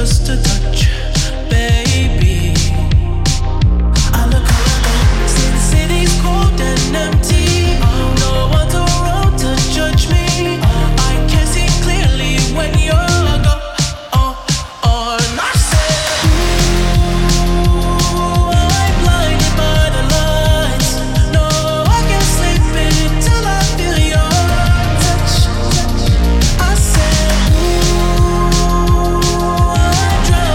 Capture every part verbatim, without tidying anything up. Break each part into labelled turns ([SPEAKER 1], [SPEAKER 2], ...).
[SPEAKER 1] just a touch, baby. I look around, see the city's cold and empty. No one's around to judge me. I can see clearly when you're gone. I said, ooh, I'm blinded by the lights. No, I can't sleep until I feel your touch. I said, ooh, I'm drowning.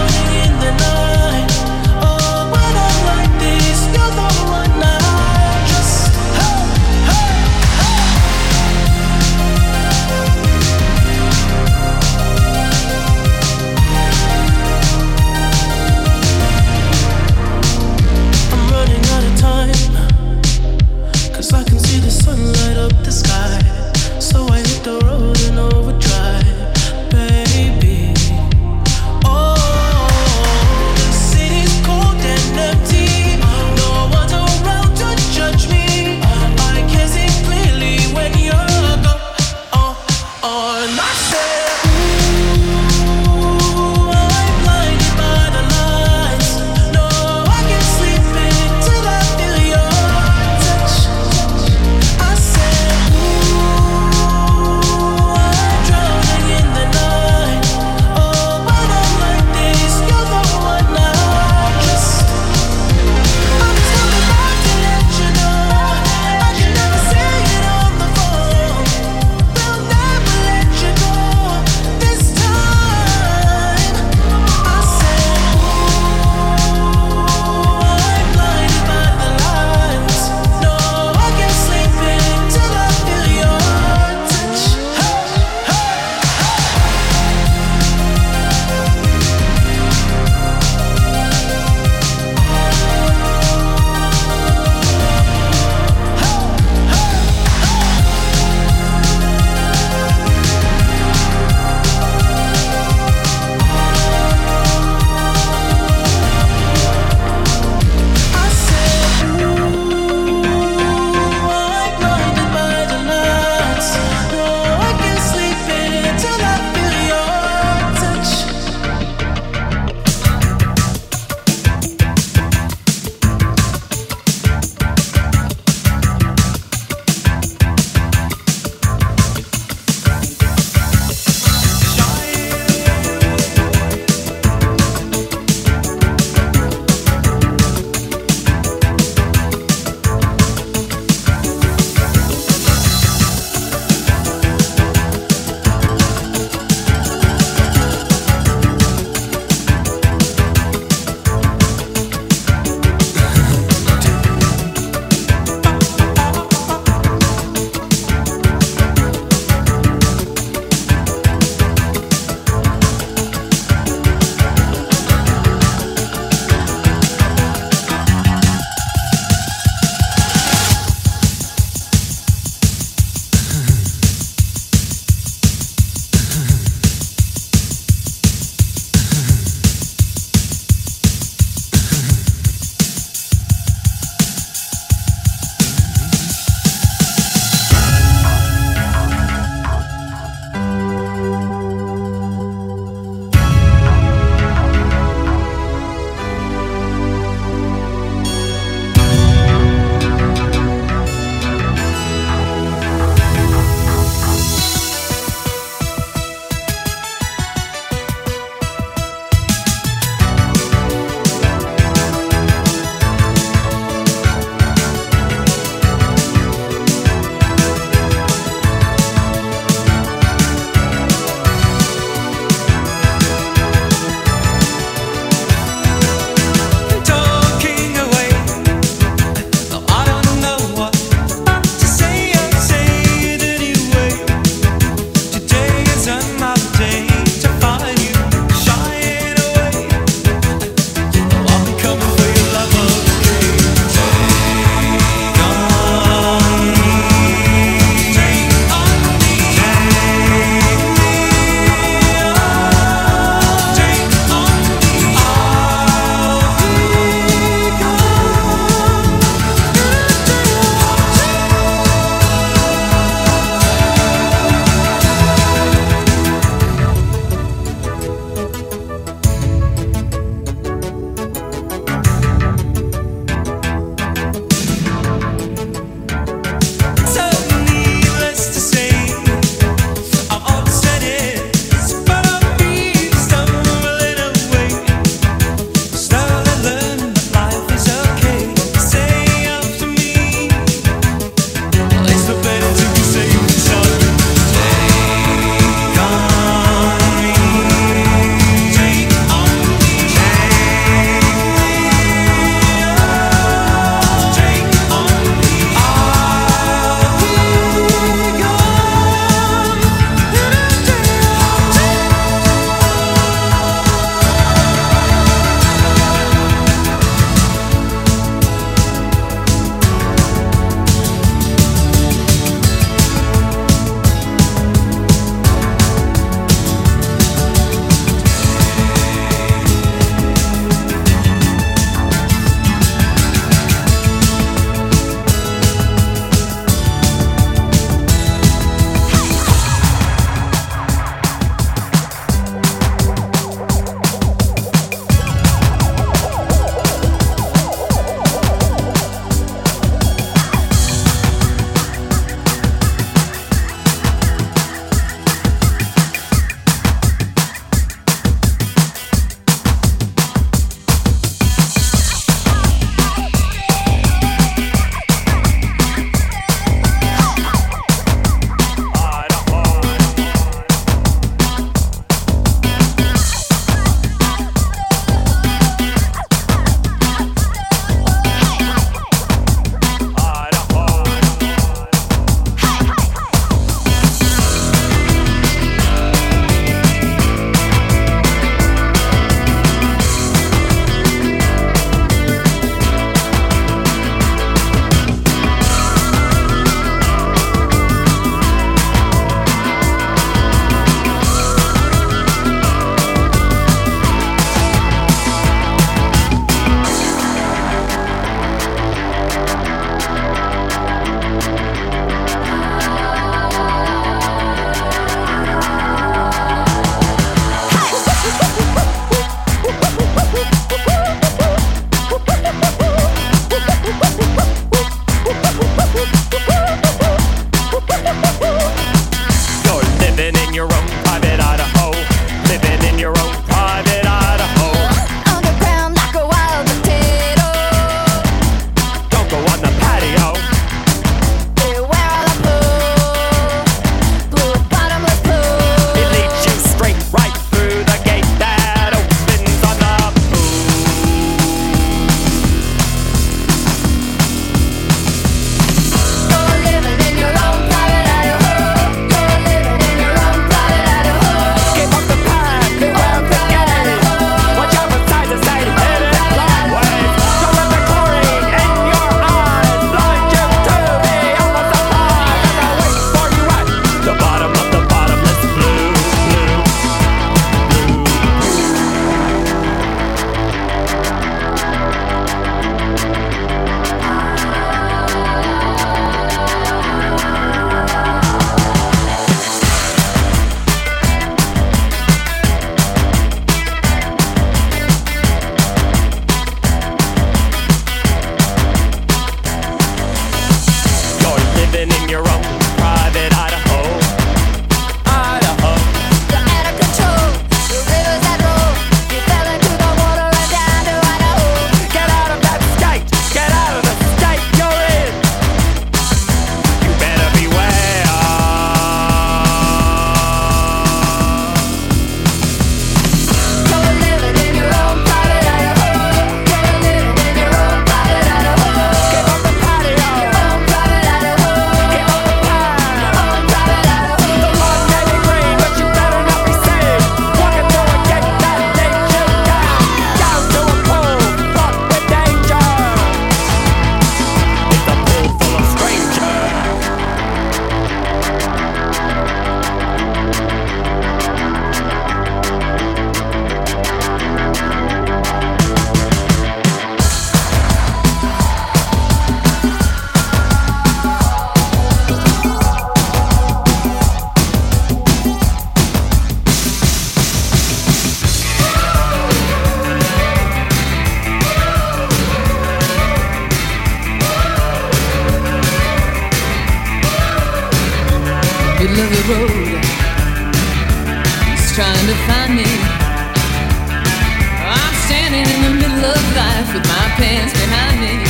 [SPEAKER 2] off with my pants behind me.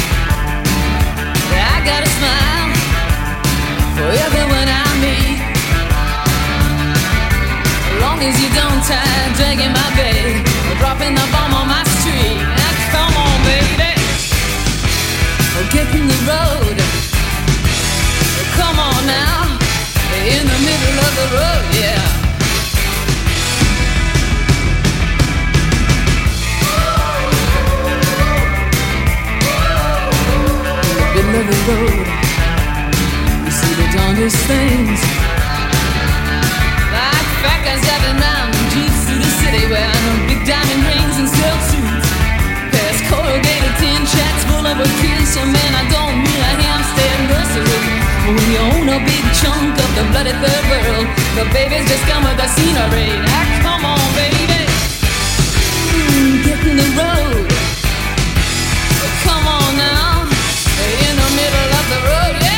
[SPEAKER 2] I got a smile for everyone I meet. As long as you don't tie dragging my bag or dropping the bomb on my street. Now come on, baby, or get in the road. Come on now, in the middle of the road, yeah. In the middle of the road, you see the darndest things. Like fat guys driving round in jeeps through the city, wearing big diamond rings and silk suits. Past corrugated tin shacks full of a kiss. So man, I don't mean a Hampstead nursery. When you own a big chunk of the bloody third world, the babies just come with the scenery. Now come on, baby, mm, get in the road. Come on now, in the middle of the road, yeah.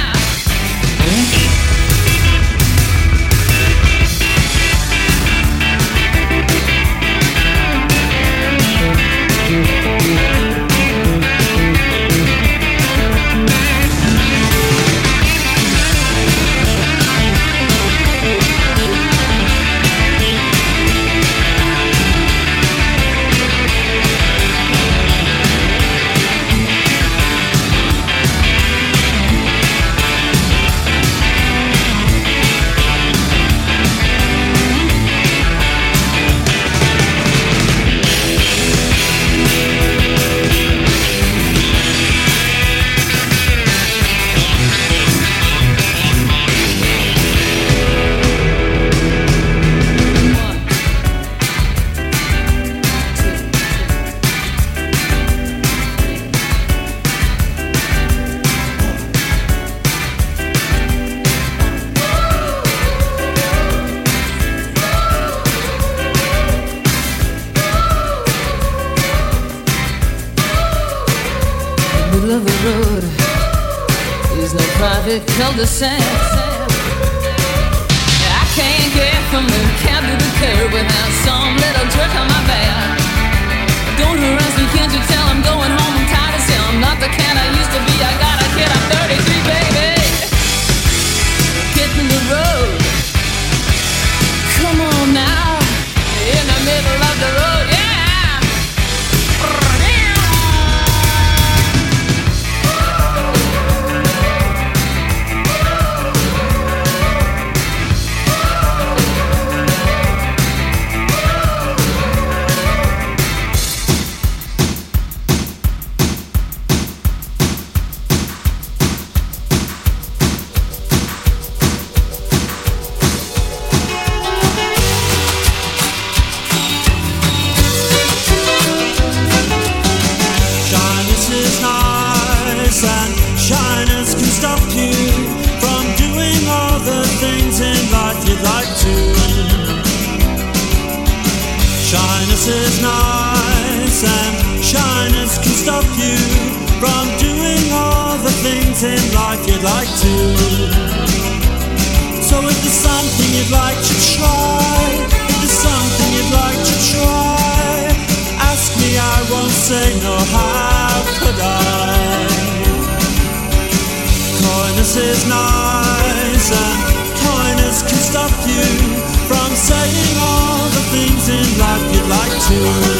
[SPEAKER 2] Cul-de-sac. I can't get from the cab to the curb without some little jerk on my back. Don't harass me, can't you tell I'm going home? I'm tired of still. I'm not the cat I used to be. I got a kid, I'm thirty-three, baby. Get in the road. Come on now, in the middle of the road, yeah.
[SPEAKER 3] Shyness is nice and shyness can stop you from doing all the things in life you'd like to. So if there's something you'd like to try, if there's something you'd like to try, ask me, I won't say no, how could I? Coyness is nice and kindness can stop you from saying all the things in life you'd like to.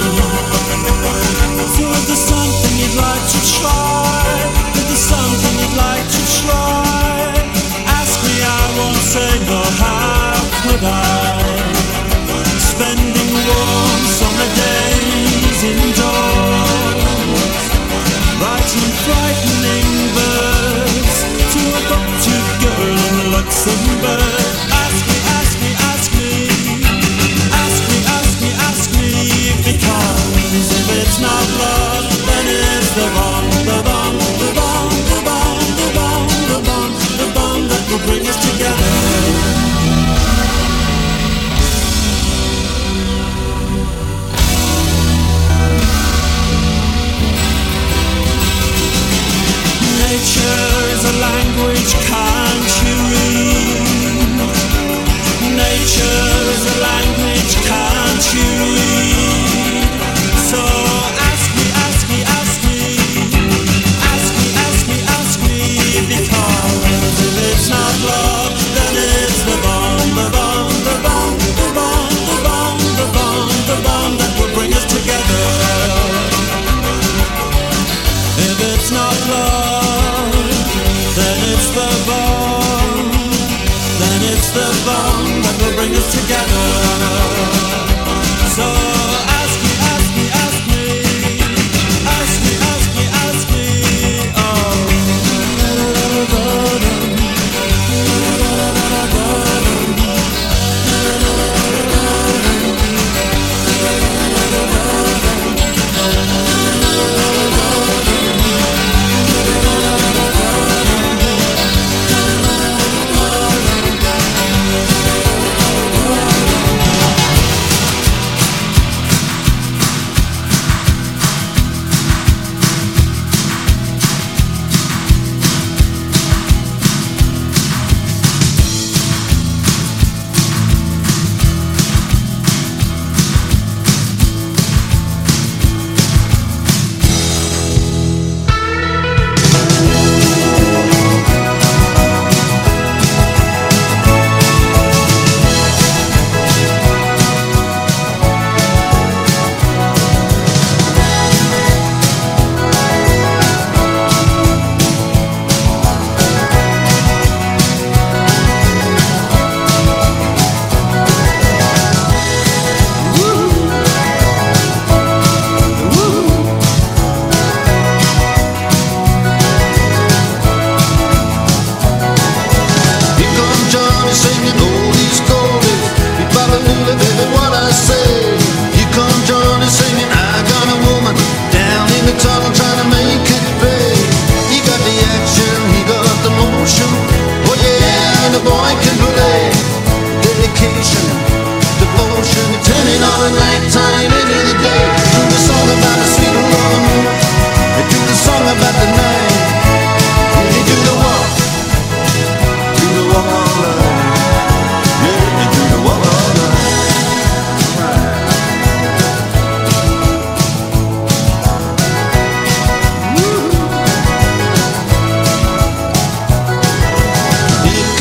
[SPEAKER 3] So if there's something you'd like to try, if there's something you'd like to try, ask me, I won't say no, how could I? Spending warm summer days indoors, writing frightening verse to a buck-toothed girl in Luxembourg. Ask me, ask me, ask me, ask me, ask me, ask me, because if it's not love, then it's the bomb, the bomb, the bomb, the bomb, the bomb, the bomb, the bomb that will bring us together. Nature is a language, can't you read? Nature is a language, can't you read? So ask me, ask me, ask me. together. So ask me, ask me, ask me, ask me, ask me, ask me. Oh.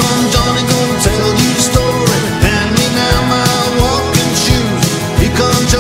[SPEAKER 4] Come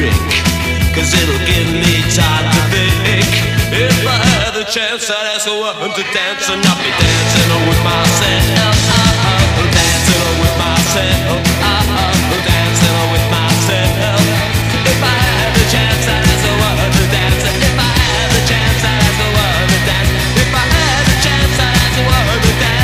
[SPEAKER 1] drink, cause it'll give me time to think. If I had the chance, I'd ask a woman to dance, and I'll be dancing with myself, dancing with myself, dancing with myself. If I had the chance, I'd ask a woman to dance. If I had the chance, I'd ask a woman to dance. If I had the chance, I'd ask a woman to dance.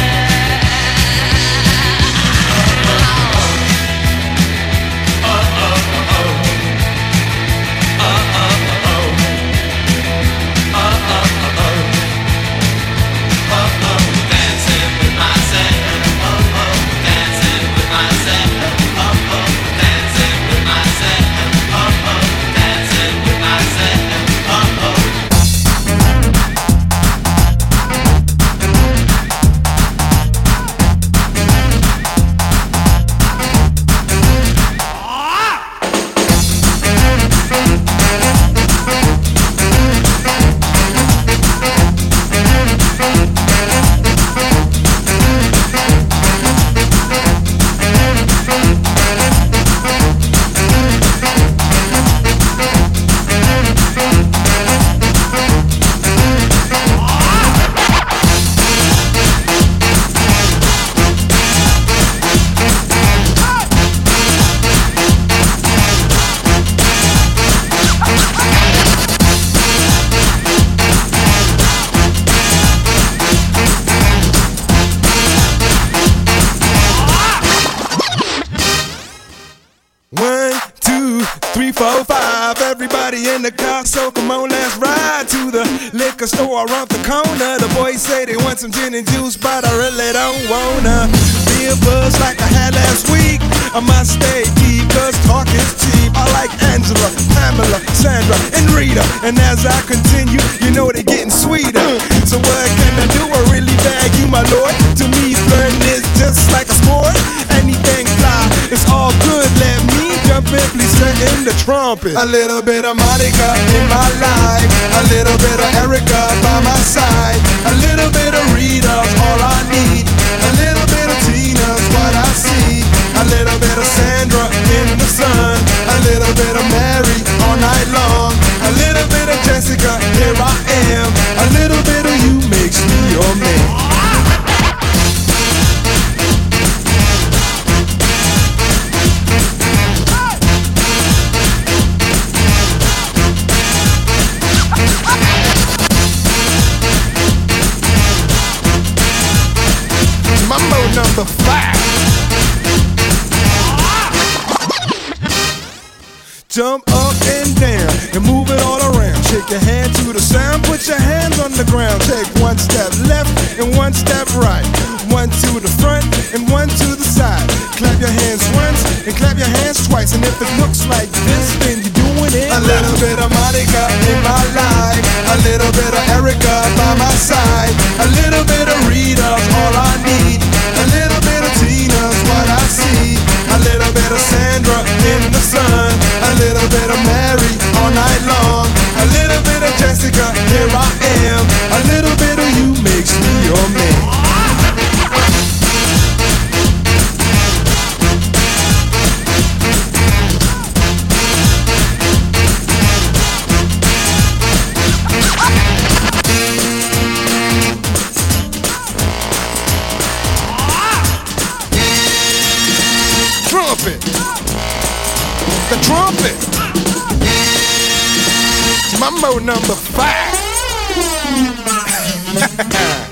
[SPEAKER 4] In the car, so come on, let's ride to the liquor store around the corner. The boys say they want some gin and juice, but I really don't wanna be a buzz like I had last week. I must stay deep, cause talk is cheap. I like Angela, Pamela, Sandra, and Rita. And as I continue, you know they're getting sweeter. So what can I do? I really bag you, my lord. To me, flirting is just like a sport. Anything fly, it's all good. Let me jump in, please set in the trumpet. A little bit of Monica in my life, a little bit of Erica by my side, a little bit of Rita's all I need, a little bit of Tina's what I see, a little bit of Sandra in the sun, a little bit of Mary all night long, a little bit of Jessica, here I am, a little bit of you makes me your man. Number five. Jump up and down and move it all around. Shake your hand to the sound, put your hands on the ground. Take one step left and one step right. One to the front and one to the side. Clap your hands once and clap your hands twice. And if it looks like this, then you're doing it. A little bit of Monica in my life, a little bit of Erica by my side, a little bit of Rita's all I need, a little bit of Tina's what I see, a little bit of Sandra in the sun, a little bit of Mary all night long, a little bit of Jessica, here I am, a little bit of you makes me your man. The trumpet. Mambo number five.